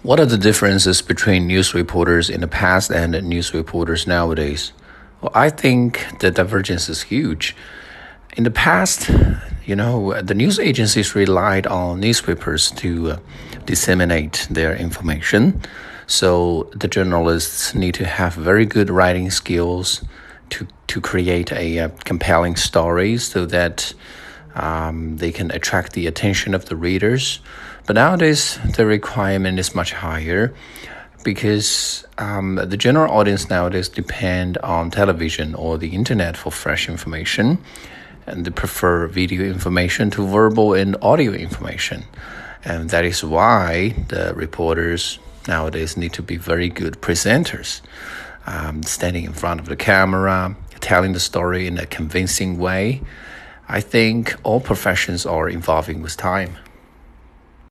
What are the differences between news reporters in the past and news reporters nowadays? Well, I think the divergence is huge. In the past, the news agencies relied on newspapers to disseminate their information. So the journalists need to have very good writing skills to create a compelling story so that they can attract the attention of the readers. But nowadays, the requirement is much higher because the general audience nowadays depend on television or the internet for fresh information, and they prefer video information to verbal and audio information. And that is why the reporters nowadays need to be very good presenters, standing in front of the camera, telling the story in a convincing way. I think all professions are evolving with time.